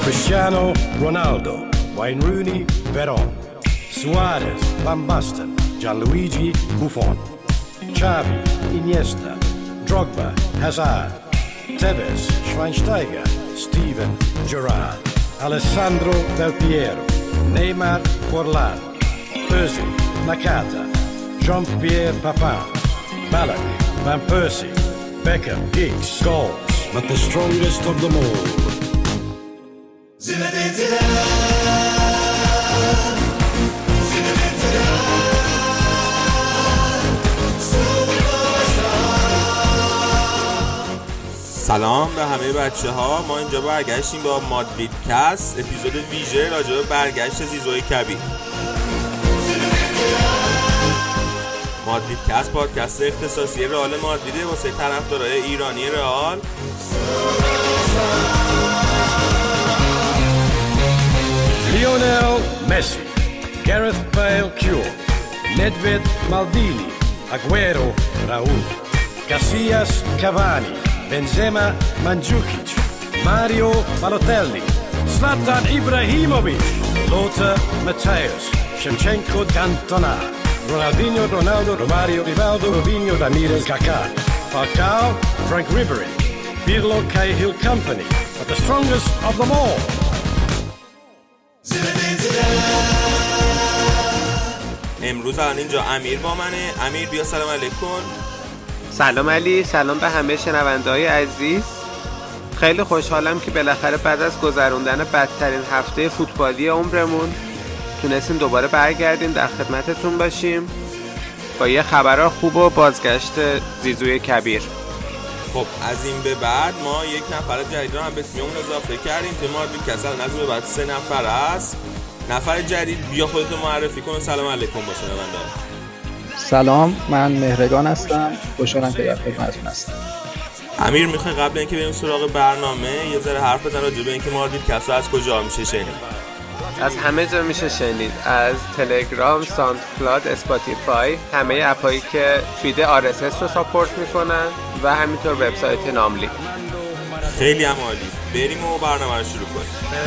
Cristiano Ronaldo, Wayne Rooney, Veron, Suarez, Van Basten, Gianluigi Buffon, Xavi, Iniesta, Drogba, Hazard, Tevez, Schweinsteiger, Steven Gerrard, Alessandro Del Piero, Neymar Forlan, Özil, Nakata, Jean-Pierre Papin, Ballack, Van Persie, Beckham, Giggs, Scholes, but the strongest of them all. Zinedine Zidane, Zinedine Zidane, سلام به همه بچه ها. ما اینجا برگشتیم با مادرید کست، اپیزود ویژه راجع به برگشت زیزوی کبیر. مادرید کست پادکست اختصاصی رئال مادریده واسه طرفدارای ایرانی رئال. Lionel Messi, Gareth Bale Cure, Nedved Maldini, Aguero Raul, Casillas Cavani, Benzema Mandzukic, Mario Balotelli, Zlatan Ibrahimovic, Lothar Matthäus, Shevchenko Cantona, Ronaldinho, Ronaldo, Romario, Rivaldo, Robinho, Ramirez, Kaká, Falcao, Frank Ribery, Pirlo, Cahill Company, but the strongest of them all. امروز الان اینجا امیر با منه. امیر بیا سلام علیکم. سلام علی، سلام به همه شنونده‌های عزیز. خیلی خوشحالم که بالاخره بعد از گذروندن بدترین هفته فوتبالی عمرمون تونستیم دوباره برگردیم در خدمتتون باشیم با یه خبرها خوب و بازگشت زیزوی کبیر. خب از این به بعد ما یک نفر جدید رو هم به تیممون اضافه کردیم. تیم مادرید کسل از این به بعد 3 نفر است. نفر جدید بیا خودتو معرفی کن و سلام علیکم با شنونده. سلام، من مهرگان هستم. خوشحالم که در خدمتتون هستم. امیر میخوای قبل اینکه بریم سراغ برنامه یه ذره حرف بزن راجع به اینکه مادرید کسل از کجا میشه شنید؟ از همه جا میشه شنید، از تلگرام، ساوند کلاود، اسپاتیفای، همه اپایی که فید RSS رو ساپورت میکنن و همینطور وبسایت ناملی. خیلی هم عالی. بریم و برنامه رو شروع کنیم.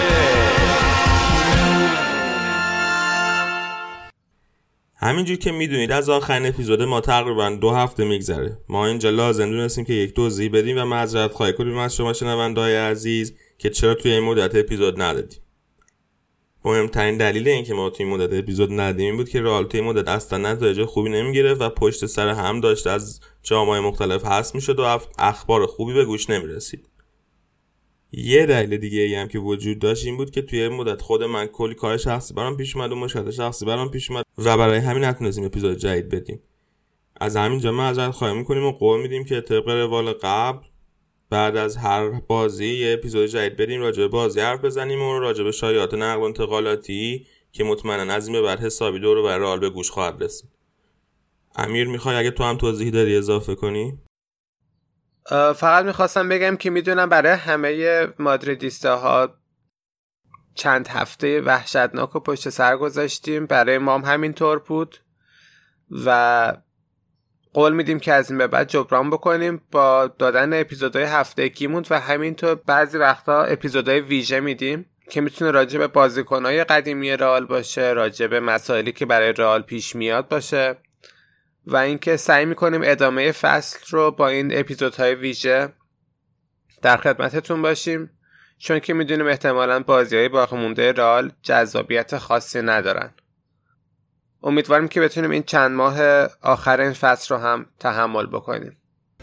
همینجور که میدونید از آخرین اپیزود ما تقریبا 2 هفته میگذره. ما اینجا لازم دونستیم که یک توضیح بدیم و معذرت خواهی کنیم از شما شنونده‌های عزیز که چرا توی این مدت اپیزود ندادیم. مهمترین دلیل این که ما توی این مدت اپیزود ندادیم این بود که رئال توی این مدت اصلا نتایج خوبی نمیگرفت و پشت سر هم داشت از جام‌های مختلف حذف میشد و اخبار خوبی به گوش نمیرسید. یه دلیل دیگه ای هم که وجود داشت این بود که توی مدت خود من کلی کار شخصی برام پیش اومد و مشکلات شخصی برام پیش اومد و برای همین نتونستیم اپیزود جدید بدیم. از همینجا معذرت خواهی می‌کنیم و قول میدیم که طبق روال قبل بعد از هر بازی یه اپیزود جدید بدیم راجع به بازی حرف بزنیم و راجع به شایعات نقل و انتقالاتی که مطمئنا از این به بعد حسابی دور و بر رئال به گوش خواهد رسید. امیر میخوای اگه تو هم توضیحی داری اضافه کنی؟ فقط میخواستم بگم که میدونم برای همه مادریدیستاها چند هفته وحشتناک و پشت سر گذاشتیم، برای ما هم همینطور بود و قول میدیم که از این به بعد جبران بکنیم با دادن اپیزودهای هفتگیمون و همینطور بعضی وقتا اپیزودهای ویژه میدیم که میتونه راجع به بازیکنهای قدیمی رئال باشه، راجع به مسائلی که برای رئال پیش میاد باشه و اینکه سعی میکنیم ادامه فصل رو با این اپیزودهای ویژه در خدمتتون باشیم، چون که میدونیم احتمالاً بازیهای باقی مونده رئال جذابیت خاصی ندارن. امیدواریم که بتونیم این چند ماه آخر این فصل رو هم تحمل بکنیم.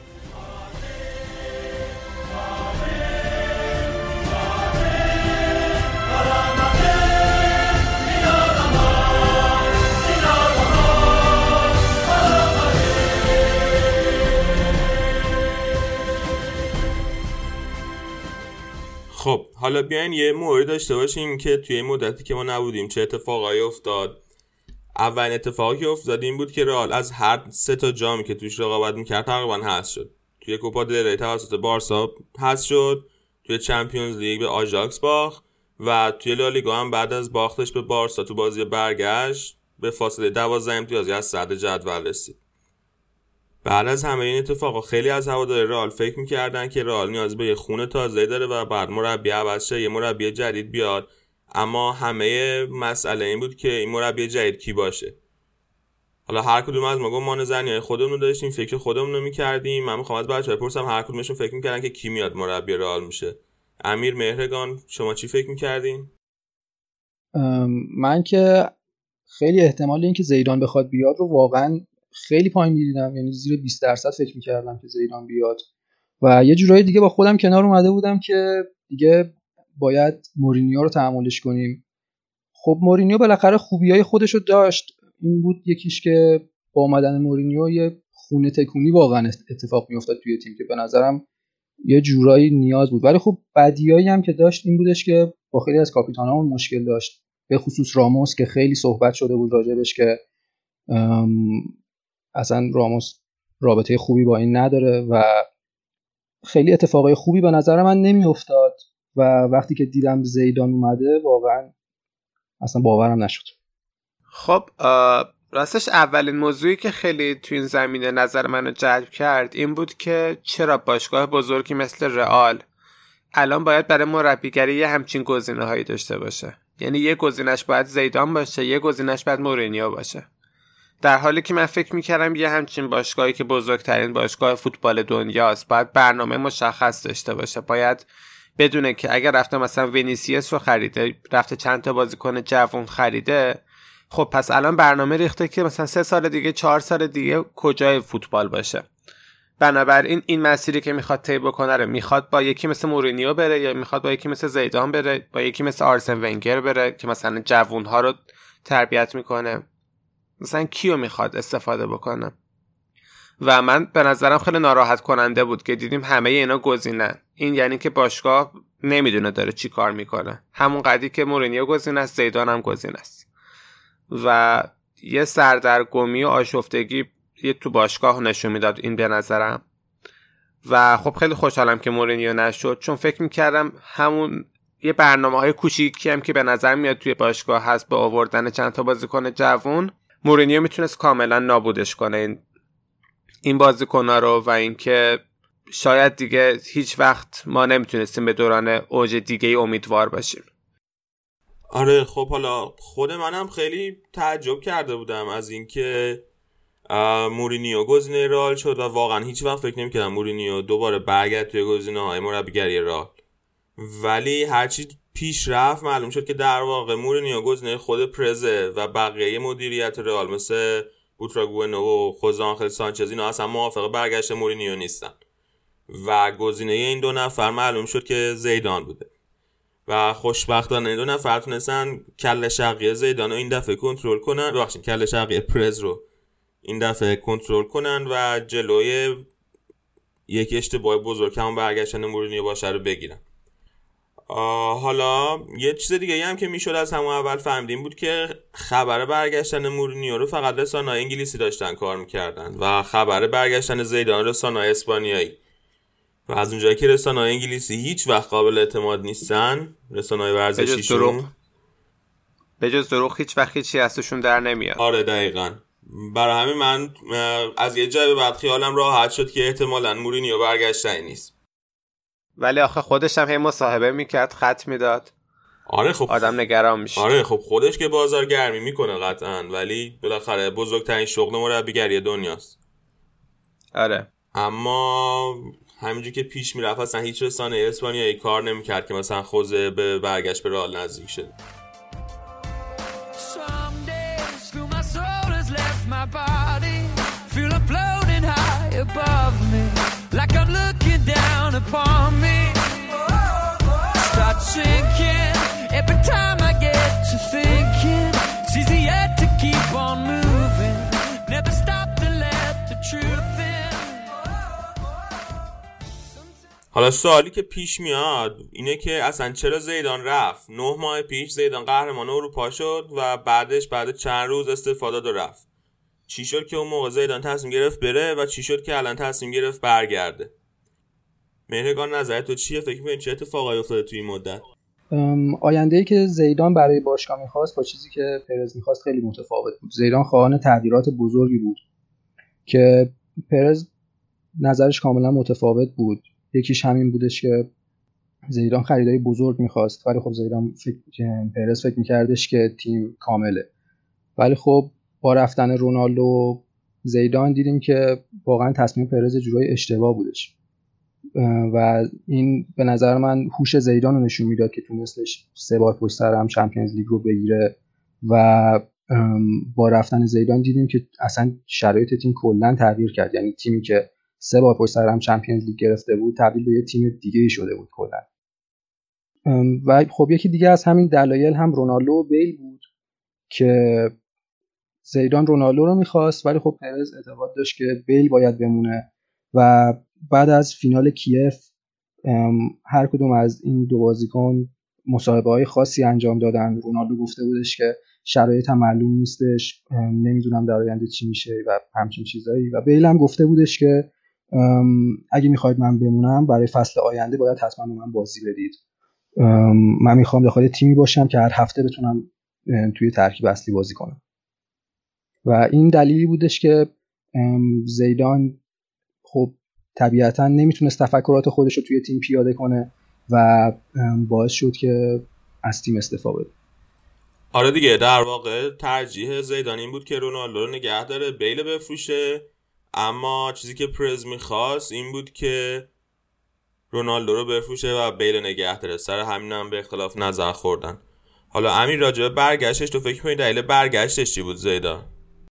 خب حالا بیاین یه مورد داشته باشیم که توی این مدتی که ما نبودیم چه اتفاقایی افتاد. اولین اتفاقی که افتاد این بود که رئال از هر 3 تا جامی که توش رقابت می‌کرد تقریبا حذف شد. توی کوپا دل ری توسط بارسا حذف شد، توی چمپیونز لیگ به آژاکس باخت و توی لالیگا هم بعد از باختش به بارسا تو بازی برگشت به فاصله 12 امتیازی از صدر جدول رسید. بعد از همه این اتفاقا خیلی از هواداری رئال فکر می‌کردن که رئال نیاز به یه خون تازه داره و بعد مربی عوض شه، یه مربی جدید بیاد. اما همه مسئله این بود که این مربی جدید کی باشه. حالا هر کدوم از ما گمان زنیای خودمون رو داشتیم، فکر خودمون رو می‌کردیم. من می‌خوام از بچه‌ها بپرسم هر کدومشون فکر می‌کردن که کی میاد مربی رئال میشه. امیر، مهرگان، شما چی فکر می‌کردین؟ من که خیلی احتمال این که زیدان بخواد بیاد رو واقعا خیلی پایین می‌دیدم، یعنی زیر 20% فکر می‌کردم که زیدان بیاد و یه جورایی دیگه با خودم کنار اومده بودم که دیگه باید مورینیو رو تحملش کنیم. خب مورینیو بالاخره خوبیای خودش رو داشت، این بود یکیش که با اومدن مورینیو یه خونه تکونی واقعا اتفاق میافتاد توی تیم که به نظرم یه جورایی نیاز بود. ولی خب بدیایی هم که داشت این بودش که با خیلی از کاپیتانامون مشکل داشت، به خصوص راموس که خیلی صحبت شده بود راجبش که اصلا راموس رابطه خوبی با این نداره و خیلی اتفاقای خوبی به نظر من نمیافتاد و وقتی که دیدم زیدان اومده واقعا اصلا باورم نشد. خب راستش اولین موضوعی که خیلی تو این زمینه نظر منو جلب کرد این بود که چرا باشگاه بزرگی مثل رئال الان باید برای مربیگری یه همچین گزینه‌هایی داشته باشه. یعنی یه گزینش باید زیدان باشه، یه گزینش باید مورینیو باشه، در حالی که من فکر میکردم یه همچین باشگاهی که بزرگترین باشگاه فوتبال دنیاست باید برنامه مشخص داشته باشه، باید بدونه که اگر رفته مثلا وینیسیوس رو خریده، رفته چند تا بازیکن جوان خریده، خب پس الان برنامه ریخته که مثلا 3 سال دیگه 4 سال دیگه کجای فوتبال باشه. بنابراین این مسیری که میخواد طی بکنه رو میخواد با یکی مثل مورینیو بره یا میخواد با یکی مثل زیدان بره، با یکی مثل آرسن ونگر بره که مثلا جوانها رو تربیت میکنه، مثلا کیو میخواد استفاده بکنه. و من به نظرم خیلی ناراحت کننده بود که دیدیم همه اینا گزینن. این یعنی که باشگاه نمیدونه داره چی کار میکنه، همون قدری که مورینیو گزینه است زیدان هم گزینه است و یه سردرگمی و آشفتگی یه تو باشگاه نشون میداد این به نظرم. و خب خیلی خوشحالم که مورینیو نشد، چون فکر میکردم همون یه برنامه‌های کوچیکی هم که به نظر میاد توی باشگاه هست با آوردن چند تا بازیکن جوان، مورینیو میتونست کاملا نابودش کنه این بازیکن‌ها رو و اینکه شاید دیگه هیچ وقت ما نمیتونستیم به دوران اوج دیگه‌ای امیدوار باشیم. آره خب حالا خود منم خیلی تعجب کرده بودم از اینکه مورینیو گزینه رئال شد و واقعا هیچ وقت فکر نمی‌کردم مورینیو دوباره برگرد توی گزینه‌های مربیگری رئال. ولی هرچی پیش رفت معلوم شد که در واقع مورینیو گزینه خود پرزه و بقیه مدیریت رئال مثل بوتراگوئنو و خوزه آنخل سانچز اینا اصلا موافق برگشت مورینیو نیستن و گزینه این دو نفر معلوم شد که زیدان بوده و خوشبختانه این دو نفر تونستن کله شقی زیدان رو این دفعه کنترل کنن، ببخشید کله شقی پرز رو این دفعه کنترل کنن و جلوی یک اشتباه بزرگ همون برگشتن مورینیو باشه رو بگیرن. حالا یه چیز دیگه هم که میشد از همون اول فهمیدیم بود که خبر برگشتن مورینیو رو فقط رسانه‌های انگلیسی داشتن کار میکردن و خبر برگشتن زیدان رسانه‌های اسپانیایی و از اونجایی که رسانه‌های انگلیسی هیچ وقت قابل اعتماد نیستن، رسانه‌های ورزشیشون به جز دروغ هیچ وقت هیچی ازشون در نمیاد. آره دقیقاً. برای همین من از یه جای به بعد خیالم راحت شد که احتمالاً مورینیو برگشتنی نیست. ولی آخه خودش هم هی مصاحبه میکرد، خط میداد. آره خب آدم نگران میشه. آره خب خودش که بازارگرمی میکنه قطعاً، ولی بالاخره بزرگترین شغل مربیگری دنیاست. آره. اما همینجوری که پیش میرفت اصلا هیچ رسانه اسپانیایی کار نمیکرد که مثلا خوزه به برگشت به رئال نزدیک شد. Upon me, start sinking every time I get to thinking. It's easier to keep on moving, never stop to let the truth in. حالا سوالی که پیش میاد اینه که اصلا چرا زیدان رفت؟ 9 ماه پیش زیدان قهرمان اروپا شد و بعد چند روز استفاده داد رفت. چی شد که اون موقع زیدان تصمیم گرفت بره و چی شد که الان تصمیم گرفت برگرده؟ مهرگان نظرت تو چیه؟ فکر می‌کنی چه اتفاقایی افتاده توی این مدت؟ آینده‌ای که زیدان برای باشگاه می‌خواست با چیزی که پرز می‌خواست خیلی متفاوت بود. زیدان خواهان تغییرات بزرگی بود که پرز نظرش کاملا متفاوت بود. یکیش همین بودش که زیدان خریدای بزرگ میخواست، ولی خب پرز فکر میکردش که تیم کامله. ولی خب با رفتن رونالدو زیدان دیدیم که واقعا تصمیم پرز جورای اشتباه بودش و این به نظر من هوش زیدان رو نشون میداد که تونستش 3 بار پشت سر هم چمپیونز لیگ رو بگیره و با رفتن زیدان دیدیم که اصلا شرایط تیم کلا تغییر کرد. یعنی تیمی که 3 بار پشت سر هم چمپیونز لیگ گرفته بود تبدیل به یه تیم دیگه شده بود کلا. و خب یکی دیگه از همین دلایل هم رونالدو و بیل بود که زیدان رونالدو رو میخواست، ولی خب پرز اعتقاد داشت که بیل باید بمونه و بعد از فینال کیف هر کدوم از این دو بازیکن مصاحبه‌های خاصی انجام دادن. رونالدو گفته بودش که شرایطم معلوم نیستش، نمیدونم در آینده چی میشه و همچین چیزایی، و بیل هم گفته بودش که اگه میخواید من بمونم برای فصل آینده باید حتما به من بازی بدید. من میخوام داخل تیمی باشم که هر هفته بتونم توی ترکیب اصلی بازی کنم. و این دلیلی بودش که زیدان خب طبیعتا نمیتونست تفکرات خودش رو توی تیم پیاده کنه و باعث شد که از تیم استعفا بده. آره دیگه، در واقع ترجیح زیدان این بود که رونالدو رو نگه داره، بیل بفروشه، اما چیزی که پرز میخواست این بود که رونالدو رو بفروشه و بیل نگه داره. سر همین هم به اختلاف نظر خوردن. حالا امیر راجع به برگشتش تو فکر کنی دلیل برگشتش چی بود زیدان؟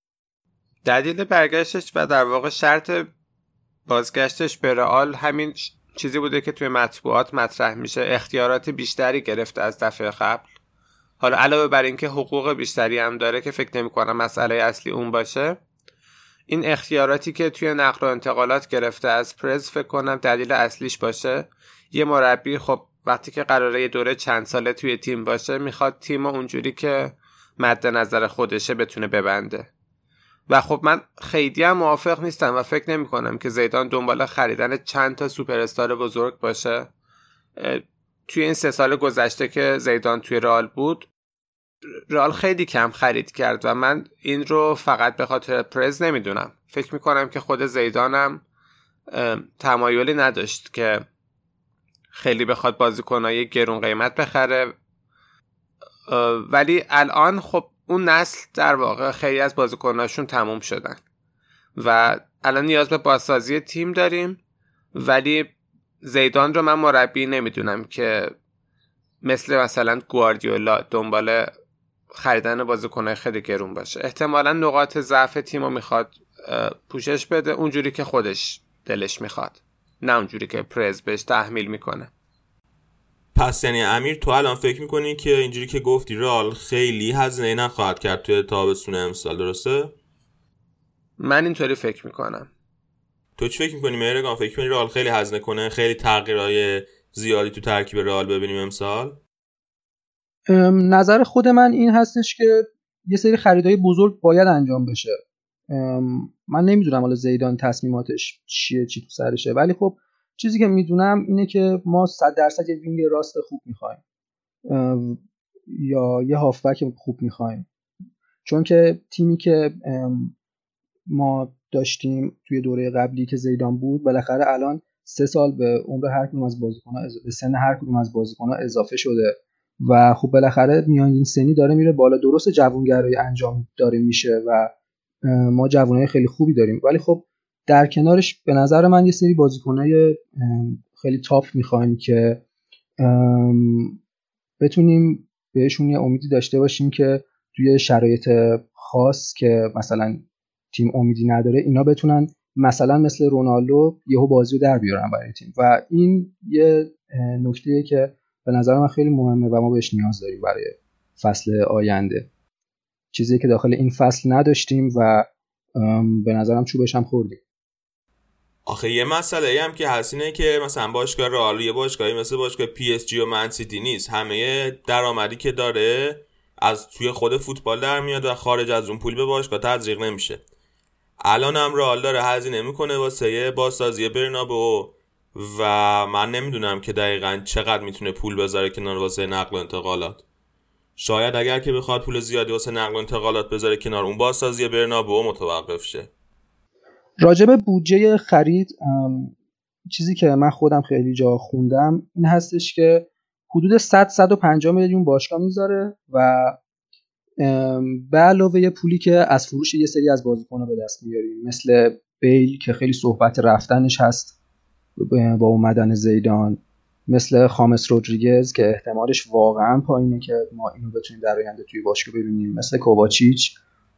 دلیل برگشتش و در واقع شرط بازگشتش به رئال همین چیزی بوده که توی مطبوعات مطرح میشه، اختیارات بیشتری گرفته از دفعه قبل. حالا علاوه بر اینکه حقوق بیشتری هم داره که فکر نمی‌کنم مسئله اصلی اون باشه، این اختیاراتی که توی نقل و انتقالات گرفته از پرز فکر کنم دلیل اصلیش باشه. یه مربی خب وقتی که قراره یه دوره چند ساله توی تیم باشه میخواد تیم اونجوری که مد نظر خودشه بتونه ببنده. و خب من خیلی هم موافق نیستم و فکر نمی کنم که زیدان دنبال خریدن چند تا سوپر استار بزرگ باشه. توی این 3 سال گذشته که زیدان توی رئال بود، رئال خیلی کم خرید کرد و من این رو فقط به خاطر پرز نمیدونم. فکر می کنم که خود زیدانم تمایلی نداشت که خیلی بخواد بازیکنای گرون قیمت بخره، ولی الان خب اون نسل در واقع خیلی از بازیکناشون تموم شدن و الان نیاز به بازسازی تیم داریم. ولی زیدان رو من مربی نمیدونم که مثلا گواردیولا دنبال خریدن بازیکنای خیلی گرون باشه. احتمالاً نقاط ضعف تیمو میخواد پوشش بده اونجوری که خودش دلش میخواد، نه اونجوری که پرز بهش تحمیل میکنه. پس یعنی امیر تو الان فکر میکنی که اینجوری که گفتی رئال خیلی هزینه نخواهد کرد توی تابستون امسال، درسته؟ من اینطوری فکر میکنم. تو چی فکر میکنی مهرگان؟ فکر میکنی رئال خیلی هزینه کنه، خیلی تغییرهای زیادی تو ترکیب رئال ببینیم امسال؟ نظر خود من این هستش که یه سری خریدای بزرگ باید انجام بشه. من نمیدونم حالا زیدان تصمیماتش چیه، چی تو سرشه، ولی خب چیزی که میدونم اینه که ما 100% یه وینگ راست خوب میخوایم یا یه هافبک خوب میخوایم، چون که تیمی که ما داشتیم توی دوره قبلی که زیدان بود بالاخره الان 3 سال به عمر هر کدوم از بازیکن‌ها به سن هر کدوم از بازیکن‌ها اضافه شده و خب بالاخره میانگین سنی داره میره بالا. درست جوانگرایی انجام داره میشه و ما جوانای خیلی خوبی داریم، ولی خب در کنارش به نظر من یه سری بازیکنای خیلی تاپ میخوایم که بتونیم بهشون یه امیدی داشته باشیم که توی شرایط خاص که مثلا تیم امیدی نداره اینا بتونن مثلا مثل رونالدو یهو بازی رو در بیارن برای تیم. و این یه نکته‌ایه که به نظر من خیلی مهمه و ما بهش نیاز داریم برای فصل آینده، چیزی که داخل این فصل نداشتیم و به نظرم چوبش هم خوردیم. آخه یه مسئله هم که هست اینه که مثلا باشگاه رئال یه باشگاهی مثل باشگاه پی اس جی و من سیتی نیست. همه درآمدی که داره از توی خود فوتبال در میاد و خارج از اون پول به باشگاه تزریق نمیشه. الان هم رئال داره هزینه میکنه واسه بازسازی برنابئو و من نمیدونم که دقیقاً چقدر میتونه پول بذاره کنار واسه نقل و انتقالات. شاید اگر که بخواد پول زیادی واسه نقل و انتقالات بذاره کنار، اون بازسازی برنابئو متوقف شه. راجب بودجه خرید چیزی که من خودم خیلی جا خوندم این هستش که حدود 100-150 میلیون باشگاه میذاره و به علاوه پولی که از فروش یه سری از بازیکن‌ها به دست میاریم مثل بیل که خیلی صحبت رفتنش هست با اومدن زیدان، مثل خامس رودریگز که احتمالش واقعا پایینه که ما اینو بتونیم در آینده توی باشگاه ببینیم، مثل کوواچیچ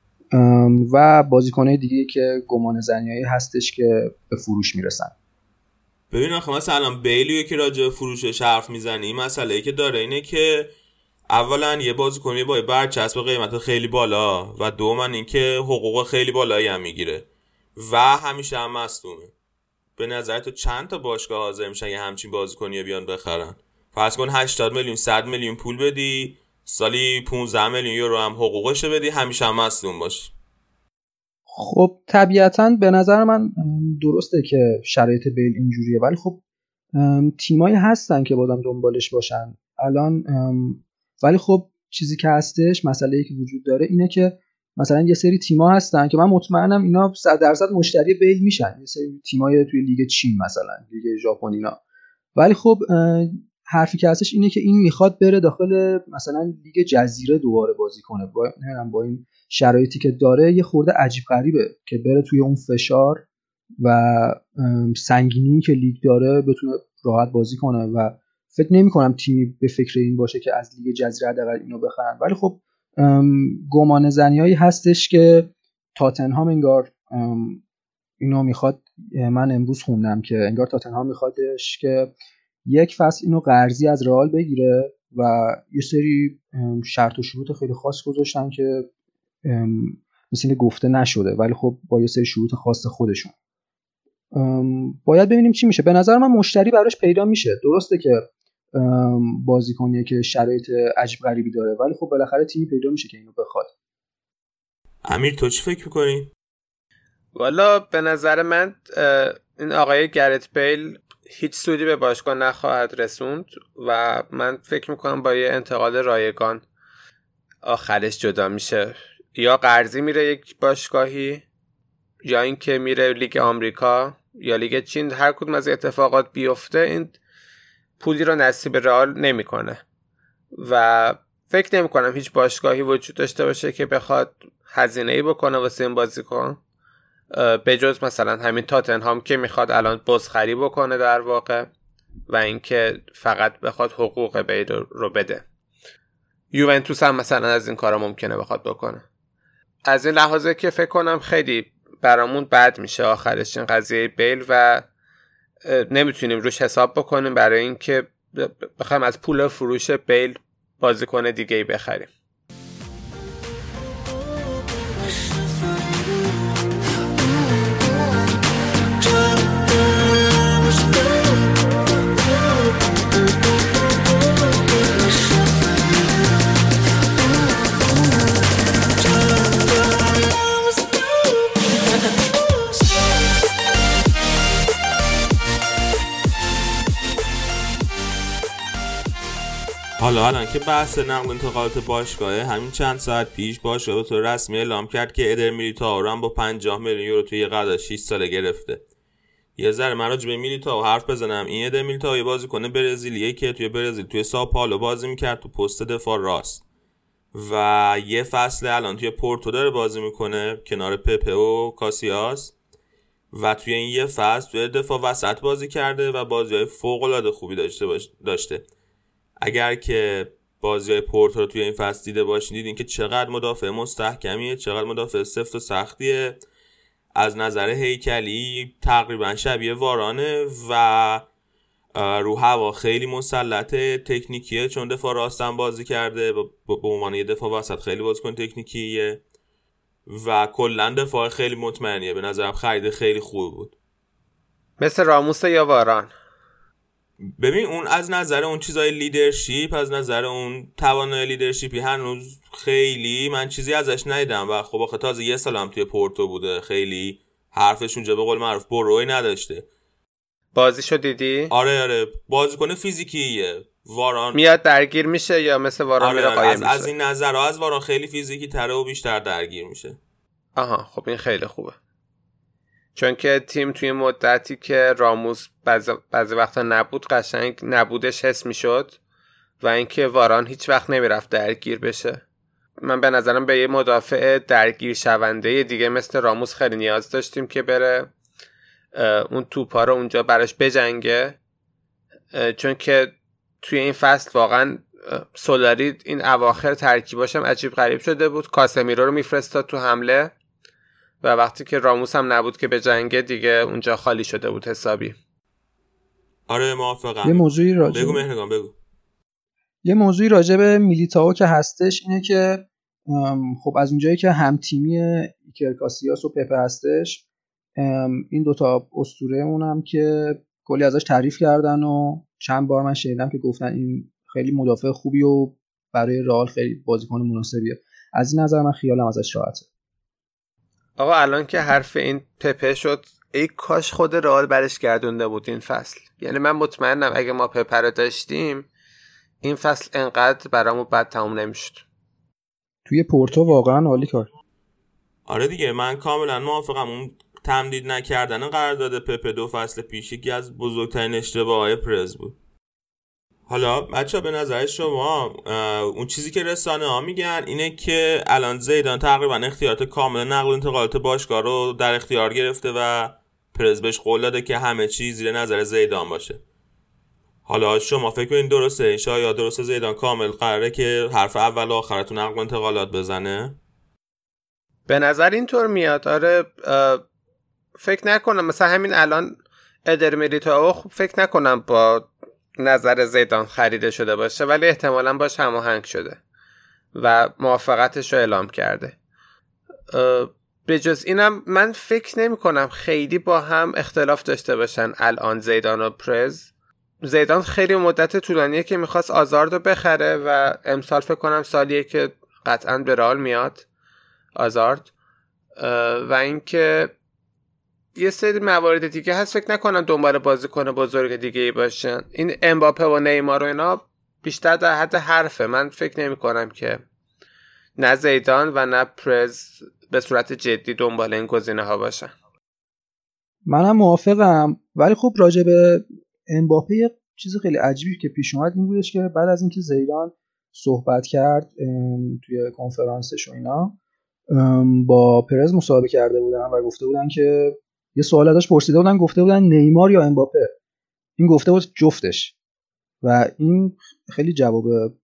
و بازیکن‌های دیگه که گمان زنیایی هستش که به فروش میرسن. ببین آخه مثلا بیلیو که راجع به فروشش حرف میزنی، مسئله‌ای که داره اینه که اولا یه بازیکنی با برچسب قیمت خیلی بالا و دوما اینکه حقوق خیلی بالایی هم میگیره و همیشه هم مصدومه. به نظر تو چند تا باشگاه حاضر میشن یه همچین بازیکنی بیان بخرن؟ فرض کن 80 میلیون 100 میلیون پول بدی، سالی 15 میلیون یورو هم حقوقش بدی، همیشه هم مصدوم باشه. خب طبیعتاً به نظر من درسته که شرایط بیل اینجوریه، ولی خب تیمایی هستن که بازم دنبالش باشن الان. ولی خب چیزی که هستش، مسئله‌ای که وجود داره اینه که مثلا یه سری تیم‌ها هستن که من مطمئنم اینا 100% مشتری بیل میشن، یه سری تیمای توی لیگ چین مثلا، لیگ ژاپن اینا. ولی خب حرفی که هستش اینه که این میخواد بره داخل مثلا لیگ جزیره دوباره بازی کنه. با این شرایطی که داره یه خورده عجیب غریبه که بره توی اون فشار و سنگینی که لیگ داره بتونه راحت بازی کنه و فکر نمی کنم تیمی به فکر این باشه که از لیگ جزیره حداقل اینو بخرن. ولی خب گمان زنیایی هستش که تاتنهام انگار اینو میخواد. من امروز خوندم که انگار تاتنهام میخوادش که یک فصل اینو قرضی از رئال بگیره و یه سری شرط و شروط خیلی خاص گذاشتن که مثل اینکه گفته نشده، ولی خب با یه سری شروط خاص خودشون. باید ببینیم چی میشه. به نظر من مشتری براش پیدا میشه. درسته که بازیکنیه که شرایط عجیب غریبی داره، ولی خب بالاخره تیمی پیدا میشه که اینو بخواد. امیر تو چی فکر میکنی؟ والا به نظر من این آقای گرت بیل هیچ سودی به باشگاه نخواهد رسوند و من فکر میکنم با یه انتقال رایگان آخرش جدا میشه. یا قرضی میره یک باشگاهی، یا اینکه میره لیگ آمریکا یا لیگ چین. هر کدوم از اتفاقات بیفته این پولی رو نصیب رئال نمیکنه و فکر نمیکنم هیچ باشگاهی وجود داشته باشه که بخواد هزینه‌ای بکنه واسه این بازیکن، به جز مثلا همین تاتنهام که میخواد الان بازخری بکنه در واقع و اینکه فقط بخواد حقوق بیل رو بده. یوونتوس هم مثلا از این کارا ممکنه بخواد بکنه. از این لحاظه که فکر کنم خیلی برامون بد میشه آخرش این قضیه بیل و نمیتونیم روش حساب بکنیم برای اینکه بخوایم از پول فروش بیل بازیکن دیگه‌ای بخریم. حالا الان که بحث نقل انتقالات باشگاهه، همین چند ساعت پیش باشگاه به طور رسمی اعلام کرد که ادر میلیتائو رو هم با 50 میلیون یورو توی قرارداد 6 ساله گرفته. یه ذره من راجع به میلیتائو حرف بزنم. این ادر میلیتائو یه بازیکن برزیلیه که توی برزیل توی ساو پائولو بازی میکرد تو پست دفاع راست و یه فصل الان توی پورتو داره بازی میکنه کنار پپه و کاسیاس و توی این یه فصل توی دفاع وسط بازی کرده و بازی‌های فوق‌العاده خوبی داشته. اگر که بازی‌های پورتو رو توی این فصل دیده باشین دیدین که چقدر مدافع مستحکمیه، چقدر مدافع سفت و سختیه. از نظر هیکلی تقریبا شبیه وارانه و رو هوا خیلی مسلطه، تکنیکیه چون دفاع راستن بازی کرده، به عنوان یه دفاع وسط خیلی بازیکن تکنیکیه و کلا دفاع خیلی مطمئنیه. به نظرم خرید خیلی خوب بود. مثل راموس یا واران. ببین اون از نظر اون چیزای لیدرشپ، از نظر اون توانای لیدرشپی هنوز خیلی من چیزی ازش ندیدم و خب آخه تازه یه سال هم توی پورتو بوده، خیلی حرفش اونجا به قول معروف بروی نداشته. بازیشو دیدی؟ آره بازیکن فیزیکیه. واران میاد درگیر میشه یا مثل واران میره قایم میشه؟ از این نظر از واران خیلی فیزیکی تره و بیشتر درگیر میشه. آها خب این خیلی خوبه. چون که تیم توی مدتی که راموس بعضی وقتا نبود قشنگ نبودش حس میشد و اینکه واران هیچ وقت نمیرفت درگیر بشه. من به نظرم به یه مدافع درگیر شونده دیگه مثل راموس خیلی نیاز داشتیم که بره اون توپا رو اونجا براش بجنگه، چون که توی این فصل واقعا سولاری این اواخر ترکیباش هم عجیب غریب شده بود. کاسمیرو رو میفرستاد تو حمله و وقتی که راموس هم نبود که به جنگه دیگه اونجا خالی شده بود حسابی. آره موافقم. یه موضوعی بگو مهرگان بگو. یه موضوعی راجع به میلیتائو که هستش اینه که خب از اونجایی که هم تیمی ایکر کاسیاس و پپه هستش، این دوتا اسطوره‌مون هم که کلی ازش تعریف کردن و چند بار من شنیدم که گفتن این خیلی مدافع خوبی و برای رئال خیلی بازیکن مناسبیه. از این نظر من خیالم ازش راحته. آقا الان که حرف این پپه شد، ای کاش خود رئال برش گردونده بود این فصل. یعنی من مطمئنم اگه ما پپه رو داشتیم این فصل انقدر برامون بد تموم نمیشد. توی پورتو واقعا عالی کار. آره دیگه من کاملا موافقم. اون تمدید نکردن قرارداد پپه 2 فصل پیش یکی از بزرگترین اشتباهات پرز بود. حالا بچه‌ها به نظر شما اون چیزی که رسانه ها میگن اینه که الان زیدان تقریبا اختیارات کامل نقل و انتقالات باشگاه رو در اختیار گرفته و پرز بهش قول داده که همه چیز زیر نظر زیدان باشه. حالا شما فکر کنین درسته؟ این شاید درسته زیدان کامل قراره که حرف اول و آخر تو نقل و انتقالات بزنه؟ به نظر اینطور میاد. آره فکر نکنم مثلا همین الان ادر میلیتائو خب فکر نکنم با نظر زیدان خریده شده باشه، ولی احتمالاً باش هماهنگ شده و موافقتش رو اعلام کرده. به جز اینم من فکر نمی کنم خیلی با هم اختلاف داشته باشن الان زیدان و پرز. زیدان خیلی مدت طولانیه که میخواست آزارد رو بخره و امسال فکر کنم سالیه که قطعاً به رئال میاد آزارد، و اینکه یه سری موارد دیگه هست فکر نکنم دنبال بازیکن بزرگ دیگه ای باشن. این امباپه و نیمار و اینا بیشتر در حد حرفه. من فکر نمی کنم که نه زیدان و نه پرز به صورت جدی دنبال این گزینه ها باشن. منم موافقم، ولی خب راجع به امباپه یه چیز خیلی عجیبی که پیش اومد این بودش که بعد از اینکه زیدان صحبت کرد توی کنفرانسش و اینا با پرز مصاحبه کرده بودن و گفته بودن که یه سوال ازش پرسیده بودن، گفته بودن نیمار یا امباپه. این گفته بود جفتش و این خیلی جواب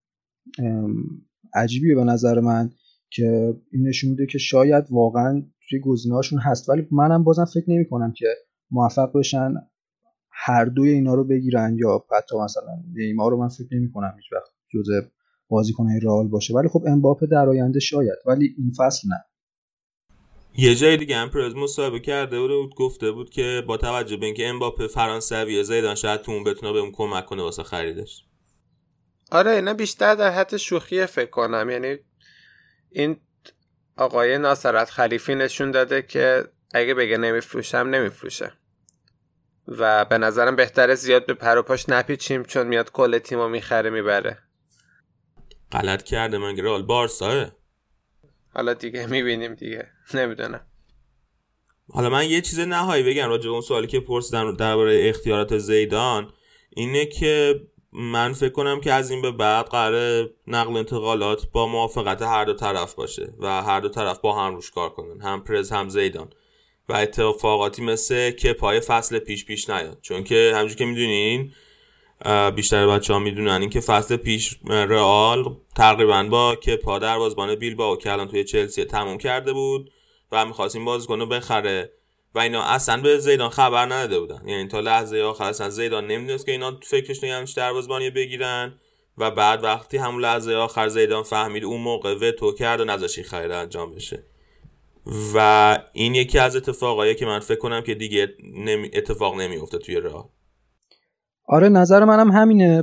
عجیبیه به نظر من که این نشون میده که شاید واقعا توی گزینه‌هاشون هست، ولی منم بازم فکر نمی‌کنم که موفق بشن هر دوی اینا رو بگیرن، یا حتی مثلا نیمار رو من فکر نمی‌کنم هیچ وقت جزء بازیکن‌های رئال باشه، ولی خب امباپه در آینده شاید، ولی این فصل نه. یه جای دیگه هم پرز مصاحبه کرده بود گفته بود که با توجه به اینکه امباپه فرانسویه زیدان شاید تو اون بتونه بهمون کمک کنه واسه خریدش. آره اینا بیشتر در حد شوخیه فکر کنم. یعنی این آقای ناصرت خلیفی نشون داده که اگه بگه نمیفروشم نمیفروشه و به نظرم بهتره زیاد به پر و پاش نپیچیم چون میاد کل تیمو میخره میبره. غلط کرده من رئال بارساه. حالا دیگه میبینیم دیگه، نمیدونم. حالا من یه چیز نهایی بگم راجع به اون سوالی که پرسیدم درباره اختیارات زیدان، اینه که من فکر کنم که از این به بعد قراره نقل انتقالات با موافقت هر دو طرف باشه و هر دو طرف با هم روش کار کنن، هم پرز هم زیدان، و اتفاقاتی مثل که پای فصل پیش نیاد. چون که همونجوری که میدونین بیشتر بچه‌ها میدونن این که فصل پیش رئال تقریبا با کپا دروازه‌بان بیلبائو که الان توی چلسی تموم کرده بود و می‌خواست این بازیکن رو بخره و اینا اصلا به زیدان خبر نداده بودن. یعنی تا لحظه آخر اصلا زیدان نمیدونست که اینا فکرش نمی‌کنن دروازه‌بانی بگیرن و بعد وقتی همون لحظه آخر زیدان فهمید اون موقع وتو کرد و نذاشت خرید انجام بشه. و این یکی از اتفاقاییه که من فکر کنم که دیگه اتفاق نمی‌افته توی رئال. آره نظر منم همینه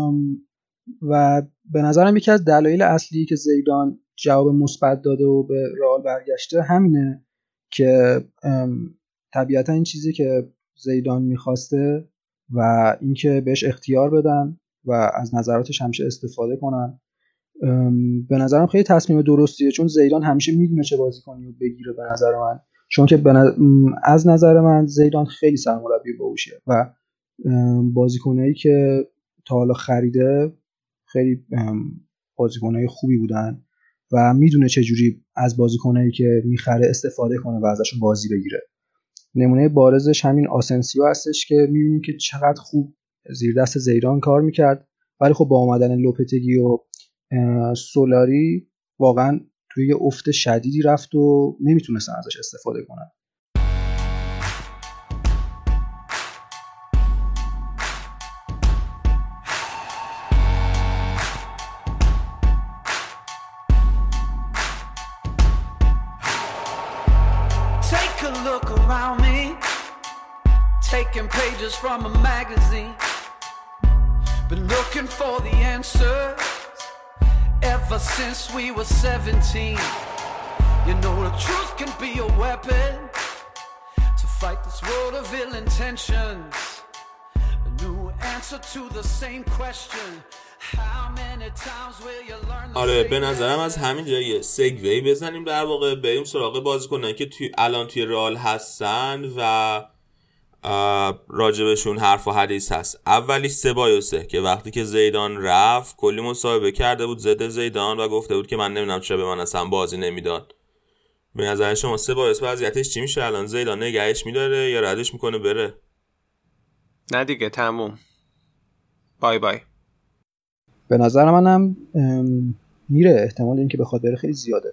و به نظرم یکی از دلایل اصلی که زیدان جواب مثبت داده و به رئال برگشته همینه که طبیعتا این چیزی که زیدان میخواسته و اینکه بهش اختیار بدن و از نظراتش همیشه استفاده کنن به نظرم خیلی تصمیم درستیه، چون زیدان همیشه میدونه چه بازیکنی رو بگیره به نظر من چون که از نظر من زیدان خیلی سرمربی باهوشه و بازیکنایی که تا حالا خریده خیلی بازیکنای خوبی بودن و میدونه چجوری از بازیکنایی که میخره استفاده کنه و ازشون بازی بگیره. نمونه بارزش همین آسنسیو هستش که میبینیم که چقدر خوب زیر دست زیدان کار میکرد، ولی خب با اومدن لوپتگی و سولاری واقعا توی یه افت شدیدی رفت و نمیتونستن ازش استفاده کنن. Take a look around me, taking pages from a magazine. Been looking for the answers ever since we were 17. You know the truth can be a weapon to fight this world of ill intentions. A new answer to the same question. How many times will you learn the آره به نظرم از همین جایی یه سگوی بزنیم، در واقع بریم سراغ بازیکنان که الان توی رئال هستن و راجبشون حرف و حدیث هست. اولی سبایوسه که وقتی که زیدان رفت کلی مصاحبه کرده بود ضد زیدان و گفته بود که من نمیدونم چرا به من اصلا بازی نمیداد. به نظر شما سبایوس وضعیتش چی میشه الان؟ زیدان نگهش میداره یا ردش میکنه بره؟ نه دیگه تموم، بای بای. به نظر منم میره، احتمال اینکه بخواد بره خیلی زیاده.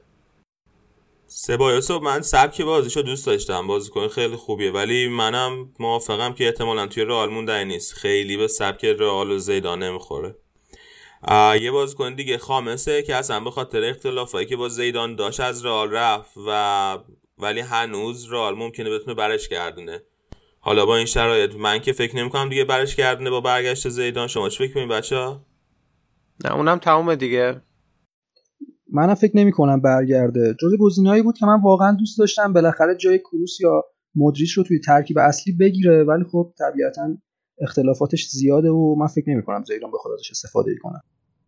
سبایوسو من سبک بازیشو دوست داشتم، بازیکن خیلی خوبیه، ولی منم موافقم که احتمالاً توی رئال موندنی نیست، خیلی به سبک رئال و زیدان نمیخوره. یه بازیکن دیگه خامسه که اصلا به خاطر اختلافایی که با زیدان داشت از رئال رفت ولی هنوز رئال ممکنه بتونه برش گردونه. حالا با این شرایط من که فکر نمی‌کنم دیگه برش گردونه با برگشت زیدان. شما چی فکر می‌کنید بچه‌ها؟ نه اونم تمومه دیگه. منم فکر نمی‌کنم برگرده. جزو گزینه‌ای بود که من واقعا دوست داشتم بالاخره جای کروس یا مودریچ رو توی ترکیب اصلی بگیره، ولی خب طبیعتاً اختلافاتش زیاده و من فکر نمی‌کنم زیدان بخواد ازش استفاده کنه.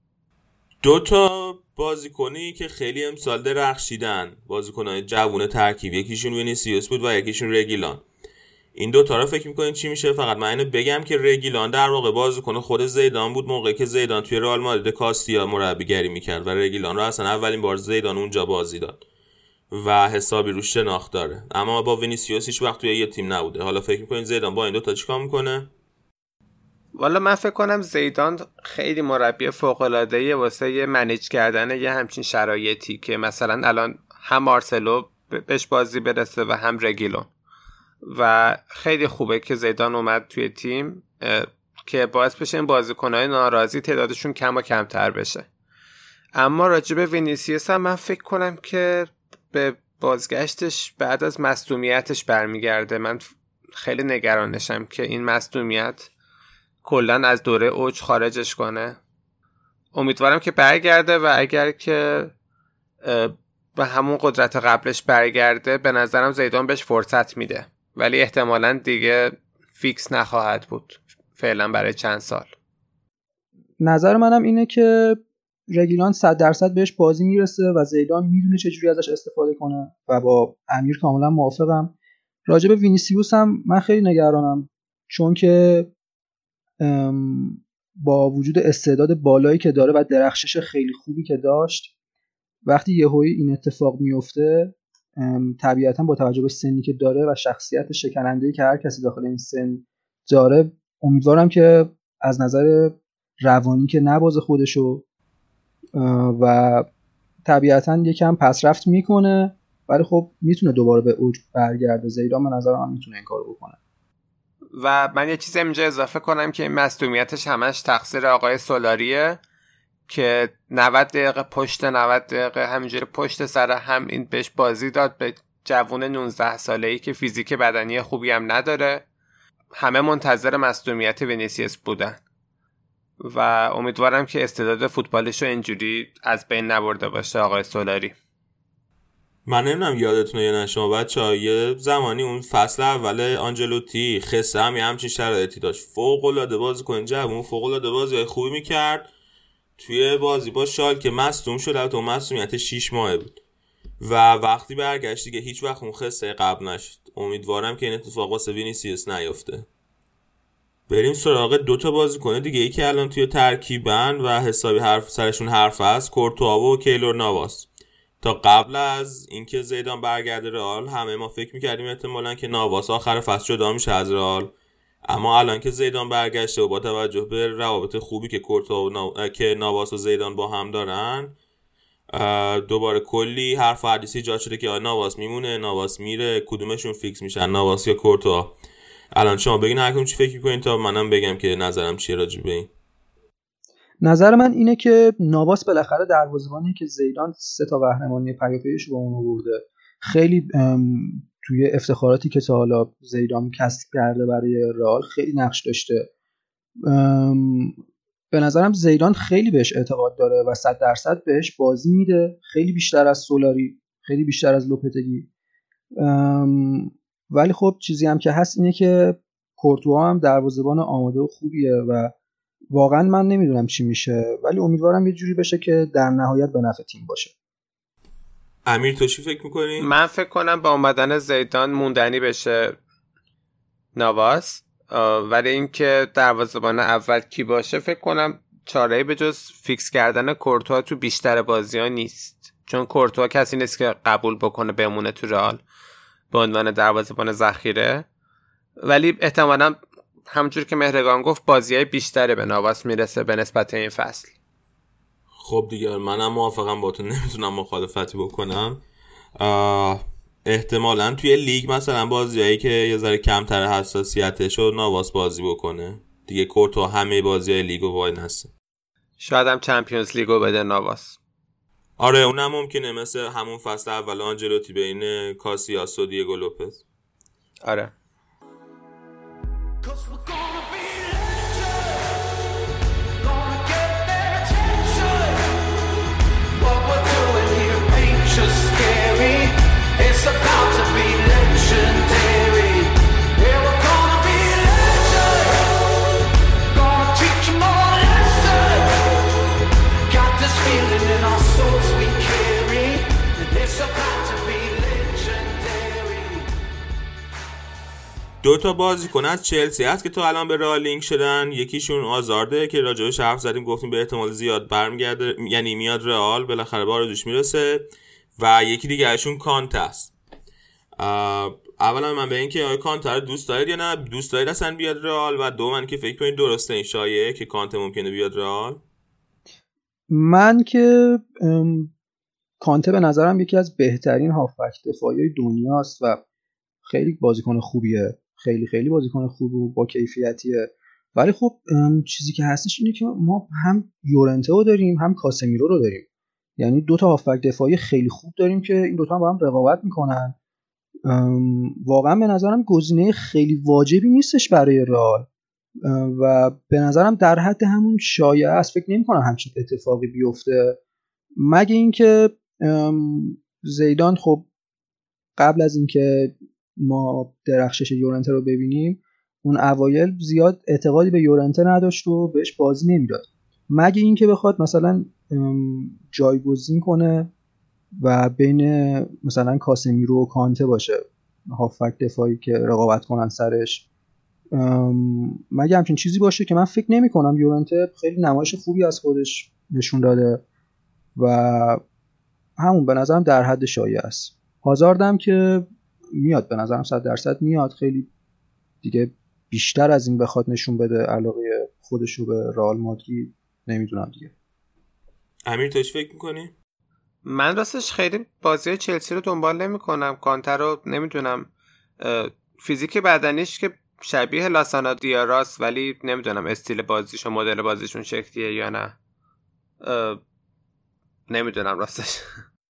دو تا بازیکنی که خیلی امسال درخشیدن، بازیکن‌های جوون ترکیب، یکیشون وینیسیوس بود و یکیشون رگیلان. این دو تا رو فکر می‌کنین چی میشه؟ فقط من اینو بگم که رگیلان در واقع بازیکن خود زیدان بود موقعی که زیدان توی رئال مادرید کاستیا مربیگری می‌کرد و رگیلان رو اصلا اولین بار زیدان اونجا بازی داد و حسابی روش شناخت داره، اما با وینیسیوس هیچ وقت توی یه تیم نبوده. حالا فکر می‌کنین زیدان با این دو تا چیکار می‌کنه؟ والا من فکر کنم زیدان خیلی مربی فوق‌العاده‌ایه واسه یه منیج کردن یه همچین شرایطی که مثلا الان هم مارسلو بهش بازی برسه و هم رگیلون، و خیلی خوبه که زیدان اومد توی تیم که باعث بشه این بازیکن‌های ناراضی تعدادشون کم و کمتر بشه. اما راجع به وینیسیوس هم من فکر کنم که به بازگشتش بعد از مصدومیتش برمیگرده. من خیلی نگرانشم که این مصدومیت کلن از دوره اوج خارجش کنه. امیدوارم که برگرده و اگر که به همون قدرت قبلش برگرده به نظرم زیدان بهش فرصت میده، ولی احتمالاً دیگه فیکس نخواهد بود فعلا برای چند سال. نظر منم اینه که رگیلان 100% بهش بازی میرسه و زیدان میدونه چجوری ازش استفاده کنه و با امیر کاملا موافقم. راجع به وینیسیوس هم من خیلی نگرانم، چون که با وجود استعداد بالایی که داره و درخشش خیلی خوبی که داشت، وقتی یهویی این اتفاق میفته طبیعتا با توجه به سنی که داره و شخصیت شکننده‌ای که هر کسی داخل این سن داره، امیدوارم که از نظر روانی که نبازه خودشو و طبیعتا یکم پسرفت میکنه، ولی خب میتونه دوباره به اوج برگرده. زیدان به نظر من میتونه این کارو بکنه. و من یه چیز اینجا اضافه کنم که این مصدومیتش همش تقصیر آقای سولاریه که 90 دقیقه پشت 90 دقیقه همینجوری پشت سر هم این بهش بازی داد به جوون 19 ساله‌ای که فیزیک بدنی خوبی هم نداره. همه منتظر مصدومیت وینیسیوس بودن و امیدوارم که استعداد فوتبالش رو اینجوری از بین نبرده باشه آقای سولاری. من نمیدونم یادتونه یا نه شما بچه‌ها، یه زمانی اون فصل اول آنجلوتی خسته هم یه همچین شرایطی داشت، فوق‌العاده بازیکن جوون، فوق‌العاده بازی خوبی میکرد. توی بازی با شالکه مصدوم شد، البته اون مصدومیت 6 ماهه بود و وقتی برگشت دیگه هیچ وقت اون خسته قبل نشد. امیدوارم که این اتفاق واسه وینیسیوس نیفته. بریم سراغ 2 بازیکن دیگه ای که الان توی ترکیبن و حسابی سرشون حرف هست، کورتوا و کیلور نواس. تا قبل از اینکه زیدان برگرده رئال همه ما فکر می‌کردیم احتمالاً که نواس آخر فصل جدا میشه از رئال، اما الان که زیدان برگشته و با توجه به روابط خوبی که کورتوا که نواس و زیدان با هم دارن، دوباره کلی حرف و حدیث ایجاد شده که نواس میمونه، نواس میره، کدومشون فیکس میشن، نواس یا کورتوا. الان شما بگین هر کدوم چی فکر می‌کنین تا منم بگم که نظرم چیه راجع به این. نظر من اینه که نواس بالاخره دروازه‌بانی که زیدان 3 قهرمانی پیاپیش با اون آورده، خیلی توی افتخاراتی که تا حالا زیدان کسب کرده برای رئال خیلی نقش داشته. به نظرم زیدان خیلی بهش اعتقاد داره و 100% بهش بازی میده، خیلی بیشتر از سولاری، خیلی بیشتر از لوپتگی. ولی خب چیزی هم که هست اینه که کورتوا هم دروازه‌بان آماده و خوبیه و واقعا من نمیدونم چی میشه، ولی امیدوارم یه جوری بشه که در نهایت به نفع تیم باشه. امیر تو چی فکر میکنی؟ من فکر کنم با اومدن زیدان موندنی بشه نواس، ولی اینکه دروازه‌بان اول کی باشه فکر کنم چاره‌ای به جز فیکس کردن کورتوا تو بیشتر بازی‌ها نیست، چون کورتوا کسی نیست که قبول بکنه بمونه تو رئال به عنوان دروازه‌بان ذخیره. ولی احتمالاً همونجور که مهرگان گفت بازی‌های بیشتری به نواس میرسه به نسبت این فصل. خب دیگه منم موافقم با تو، نمیتونم مخالفتی بکنم. احتمالاً توی لیگ مثلا بازیایی که یه ذره کمتر حساسیتش رو نواس بازی بکنه دیگه. کورتوا همه بازیای لیگو وای نسه، شاید هم چمپیونز لیگو بده نواس. آره اونم ممکنه، مثل همون فصل اول آنجلوتی بین کاسیاس و دیگو لوپز. آره Cause we're gonna be legends, gonna get their attention. What we're doing here ain't just scary, it's about to be legendary. Yeah, we're gonna be legends, gonna teach them all a lesson. Got this feeling in our souls we carry, it's about to be legendary. 2 بازیکن از چلسی هست که تو الان به رئال لینک شدن. یکیشون آزارده که راجبش حرف زدیم، گفتیم به احتمال زیاد برمیگرده، یعنی میاد رئال، بالاخره به آرزوش میرسه. و یکی دیگهشون کانت است. اولا من به این که کانت رو دوست دارید یا نه، دوست دارید اصلا بیاد رئال؟ و دوم که فکر کنید درسته این شایعه که کانت ممکنه بیاد رئال؟ من که کانته به نظرم یکی از بهترین هافبک دفاعی دنیاست و خیلی بازیکن خوبیه، خیلی خیلی بازیکن خوب و با کیفیتیه. ولی خب چیزی که هستش اینه که ما هم یورنته رو داریم هم کاسمیرو رو داریم، یعنی 2 هافبک دفاعی خیلی خوب داریم که این 2 هم با هم رقابت میکنن. واقعا به نظرم گزینه خیلی واجبی نیستش برای رئال و به نظرم در حد همون شایعه است. فکر نمی‌کنم همچین اتفاقی بیفته، مگه اینکه زیدان خب قبل از اینکه ما درخشش یورنته رو ببینیم اون اوایل زیاد اعتقادی به یورنته نداشت و بهش بازی نمیداد، مگه اینکه بخواد مثلا جایگزین کنه و بین مثلا کاسمیرو و کانته باشه هافبک دفاعی که رقابت کنن سرش، مگه همچین چیزی باشه که من فکر نمی کنم. یورنته خیلی نمایش خوبی از خودش نشون داده و همون به نظرم در حد شایعه است. هازاردم که میاد، به نظرم 100% میاد، خیلی دیگه بیشتر از این بخواد نشون بده علاقه خودش رو به رئال مادرید نمیدونم دیگه. امیر تو چی فکر میکنی؟ من راستش خیلی بازی چلسی رو دنبال نمی کنم. کانتر رو نمیدونم، فیزیک بدنیش که شبیه لاسانا دیاراست، ولی نمیدونم استیل بازیش و مدل بازیشون شکلیه یا نه، نمیدونم راستش.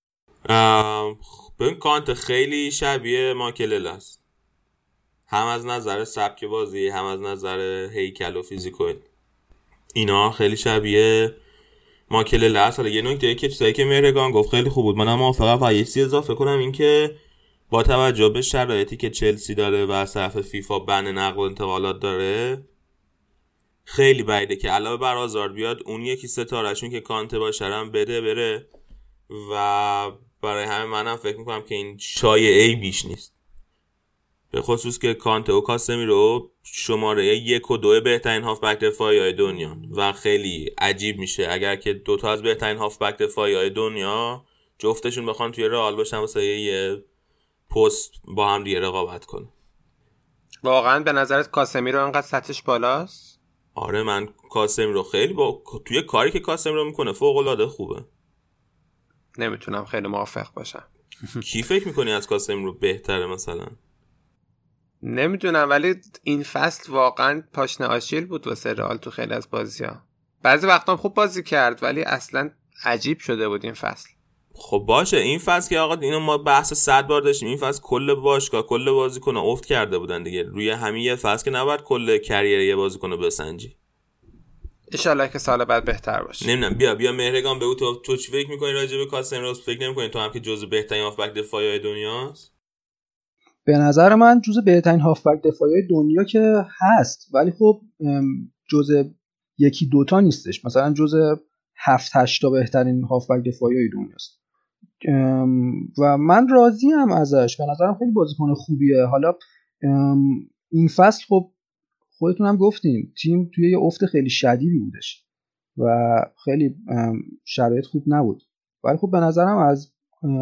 ببین کانت خیلی شبیه ماکلل است، هم از نظر سبک بازی هم از نظر هیکل و فیزیکال، اینا خیلی شبیه ماکلل است. حالا یه نکته که چیزایی که مهرگان گفت خیلی خوب بود، منم موافقم. و یه چیزی اضافه کنم، این که با توجه به شرایطی که چلسی داره و از طرف فیفا بن نقل و انتقالات داره، خیلی بعیده که علاوه بر آزار بیاد اون یکی ستارهشون که کانته باشه هم بده بره و برای همه منم فکر میکنم که این شایعه‌ای بیش نیست، به خصوص که کانته و کاسمیرو شماره 1 و 2 بهترین هافبک دفاعی دنیا و خیلی عجیب میشه اگر که دوتا از بهترین هافبک دفاعی دنیا جفتشون بخوان توی رئال باشن واسه یه پست با هم دیگه رقابت کنه. واقعا به نظرت کاسمیرو انقدر سطحش بالاست؟ آره من کاسمیرو خیلی توی کاری که کاسمیرو میکنه فوق العاده خوبه. نمیتونم خیلی موافق باشم. کی فکر میکنی از کاسمیرو بهتره مثلا؟ نمیدونم، ولی این فصل واقعا پاشنه آشیل بود واسه رئال تو خیلی از بازی‌ها. بعضی وقتا هم خوب بازی کرد ولی اصلا عجیب شده بود این فصل. خب باشه این فصل که آقا اینو ما بحث 100 بار داشتیم، این فصل کل باشگاه کل بازیکن افت کرده بودن دیگه، روی همین یه فصل که نباید کل کریر یه بازیکن بسنجی. ان شاءالله که سال بعد بهتر باشه. نمیدونم بیا مهرگان بگو تو چی فکر می‌کنی راجع به کاسمیرو؟ فکر نمی‌کنی تو هم که جزو بهترین هافبک دفاعی دنیاست؟ به نظر من جزو بهترین هافبک دفاعی دنیا که هست، ولی خب جزو یکی دوتا نیستش، مثلا جزو 7-8 تا بهترین هافبک دفاعی دنیاست و من راضیم ازش. به نظرم خیلی بازیکن خوبیه. حالا این فصل خب خودتون هم گفتین تیم توی یه افت خیلی شدیدی بودش و خیلی شرایط خوب نبود، ولی خب به نظرم از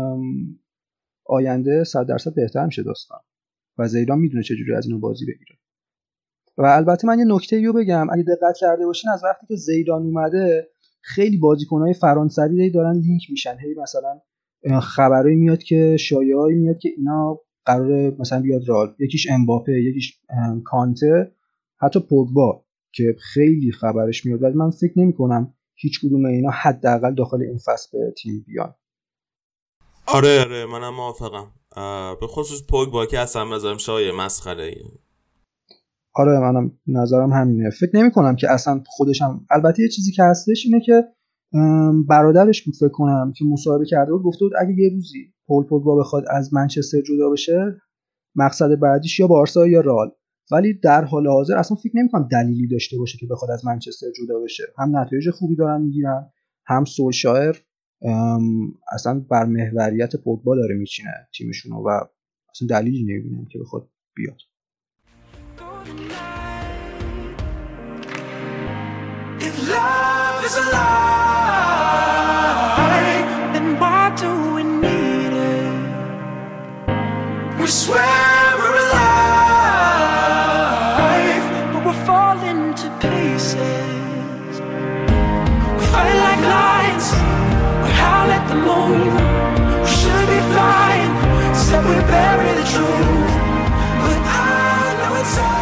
آینده 100% بهتر میشه داستان و زیدان میدونه چجوری از اینو بازی بگیره. و البته من یه نکته رو بگم، اگه دقت کرده باشین از وقتی که زیدان اومده خیلی بازیکن‌های فرانسوی دارن لینک میشن، هی مثلا خبرایی میاد که شایعه‌ای میاد که اینا قراره مثلا بیاد رئال، یکیش امباپه، یکیش کانته، حتی پوگبا که خیلی خبرش میاد، ولی من فکر نمی‌کنم هیچ کدوم اینا حداقل داخل این فصل به تیم بیان. آره منم موافقم، به خصوص پوگبا که اصلا نظرم شایعه مسخره‌ایه. آره منم نظرم همینه. فکر نمی‌کنم که اصلا خودشم، البته یه چیزی که هستش اینه که برادرش بود فکر کنم که مصاحبه کرده بود، گفته بود اگه یه روزی پول پوگبا بخواد از منچستر جدا بشه مقصد بعدیش یا بارسا یا رئال، ولی در حال حاضر اصلا فکر نمی‌کنم دلیلی داشته باشه که بخواد از منچستر جدا بشه. هم نتایج خوبی دارن میگیرن، هم سولشایر اصلا بر محوریت پوگبا داره میچینه تیمشونو و اصلا دلیلی نمیبینم که بخواد بیاد. If love is a lie, then why do we need it? We swear we're alive, but we're falling to pieces. We fight like lions, we howl at the moon. We should be flying, said we bury the truth, but I know it's all.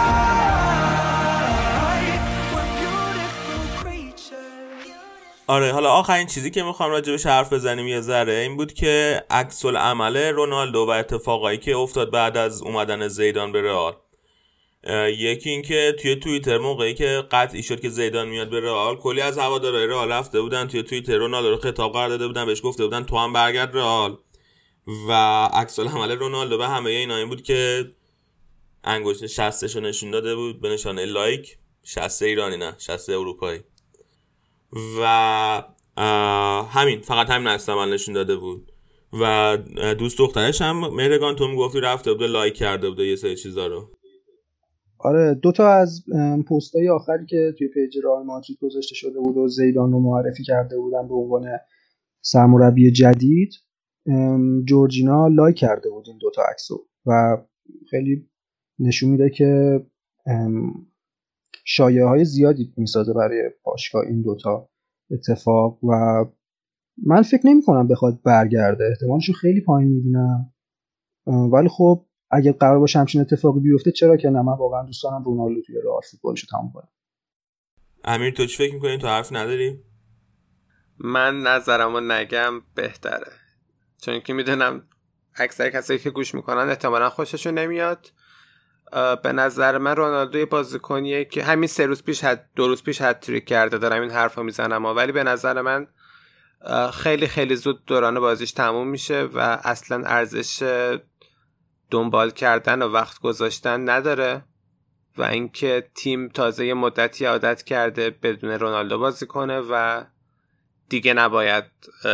آره حالا آخرین چیزی که میخوام راجبش حرف بزنیم یه ذره این بود که عکس العمل رونالدو و اتفاقایی که افتاد بعد از اومدن زیدان به رئال. یکی این که توی توییتر موقعی که قطعی شد که زیدان میاد به رئال، کلی از هوادارهای رئال رفته بودن توی توییتر رونالدو رو خطاب قرار داده بودن، بهش گفته بودن تو هم برگرد رئال. و عکس العمل رونالدو به همه اینا این بود که انگشت شستشو نشون داده بود به نشانه لایک، شست ایرانی نه شست اروپایی، و همین فقط همین عکس العمل نشون داده بود. و دوست دخترش هم مهرگان تو میگفتی رفته بود لایک کرده بود یه سری چیزا رو. آره دوتا از پستای آخری که توی پیج رئال مادرید گذاشته شده بود و زیدان رو معرفی کرده بودن به عنوان سرمربی جدید، جورجینا لایک کرده بود این دوتا عکسو و خیلی نشون میده که شایعه‌های زیادی میسازه برای باشگاه این دوتا اتفاق و من فکر نمی‌کنم بخواد برگرده، احتمالشو خیلی پایین می‌بینم، ولی خب اگه قرار باشه همچین اتفاقی بیفته چرا که نه، من واقعا دوست دارم رونالدو توی رئال فوتبالشو تموم کنه. امیر تو چی فکر می‌کنی؟ تو حرف نداری؟ من نظرمو نگم بهتره، چون که میدونم اکثر کسایی که گوش میکنن احتمالاً خوششون نمیاد. به نظر من رونالدو یه بازیکنیه که همین 3 روز پیش 2 روز پیش هتریک کرده، دارم این حرفو میزنم، ولی به نظر من خیلی خیلی زود دوران بازیش تموم میشه و اصلا ارزش دنبال کردن و وقت گذاشتن نداره و اینکه تیم تازه یه مدتی عادت کرده بدون رونالدو بازی کنه و دیگه نباید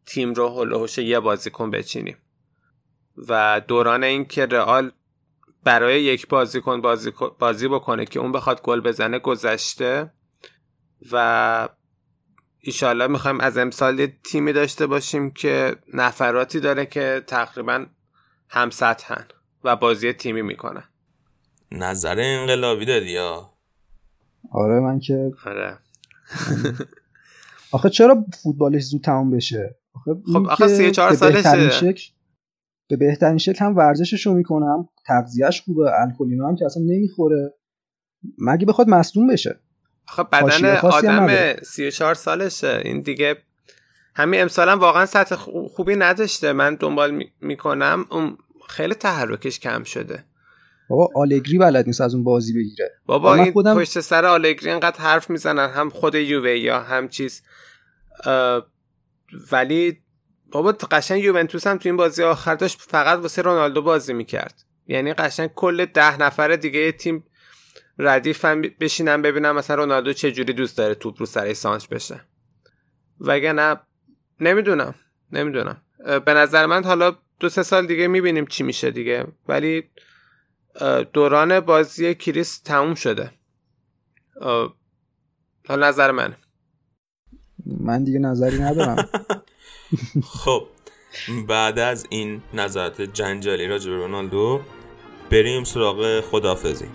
تیم رو هول و هوش یه بازیکن بچینیم و دوران این که رئال برای یک بازیکن بازی بکنه که اون بخواد گل بزنه گذشته و ایشالله میخوایم از امسال یه تیمی داشته باشیم که نفراتی داره که تقریبا هم سطحن و بازی تیمی میکنن. نظر انقلابی دادی یا؟ آره من که آره. آخه چرا فوتبالش زود تموم بشه؟ خب آخه 34 سالشه. به بهترین شکل هم ورزششو میکنه، هم تغذیهش خوبه، الکلینا هم که اصلا نمیخوره، مگه بخواد مصدوم بشه. آخه بدن آدم 34 سالشه، این دیگه همین امسال هم واقعا سطح خوبی نداشته. من دنبال میکنم اون خیلی تحرکش کم شده. بابا آلگری بلد نیست از اون بازی بگیره. بابا این پشت سر آلگری اینقدر حرف میزنن، هم خود یووه یا هم چیز، ولی بابا قشنگ یوونتوس هم تو این بازی آخر داشت فقط واسه رونالدو بازی میکرد. یعنی قشنگ کل 10 نفر دیگه تیم ردیفن بشینن ببینم مثلا رونالدو چه جوری دوست داره توپ رو سر سانچ بشه. وگرنه نمیدونم. به نظر من حالا 2-3 سال دیگه میبینیم چی میشه دیگه، ولی دوران بازی کریس تموم شده. حالا نظر من دیگه نظری ندارم. خب بعد از این نظرات جنجالی راجع به رونالدو بریم سراغ خداحافظی.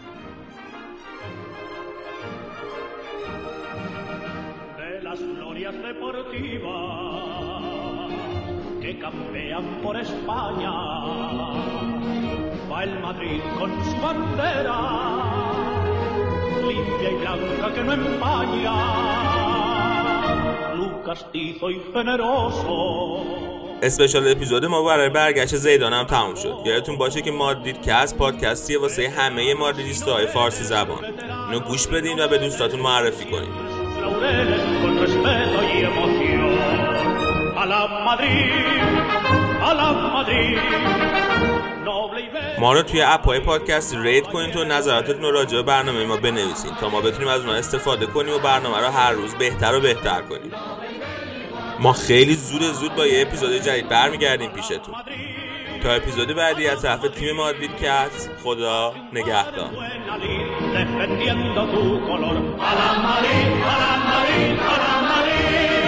Campean por España, va el Madrid con su bandera, limpia y blanca que no empaña, Lucas castizo y generoso. اسپشیال اپیزود ما برای برگشت زیدان هم تموم شد. یادتون باشه که مادرید کست پادکستیه واسه همه مادریدیستای فارسی زبان. اینو گوش بدین و به دوستاتون معرفی کنین. ما رو توی اپ‌های پادکست رید کنین تو نظراتتون رو راجع به برنامه ما بنویسین تا ما بتونیم از اونها استفاده کنیم و برنامه رو هر روز بهتر و بهتر کنیم. ما خیلی زود با یه اپیزود جدید برمیگردیم پیشتون. تا اپیزود بعدی از طرف تیم مادرید کست، خدا نگهدار.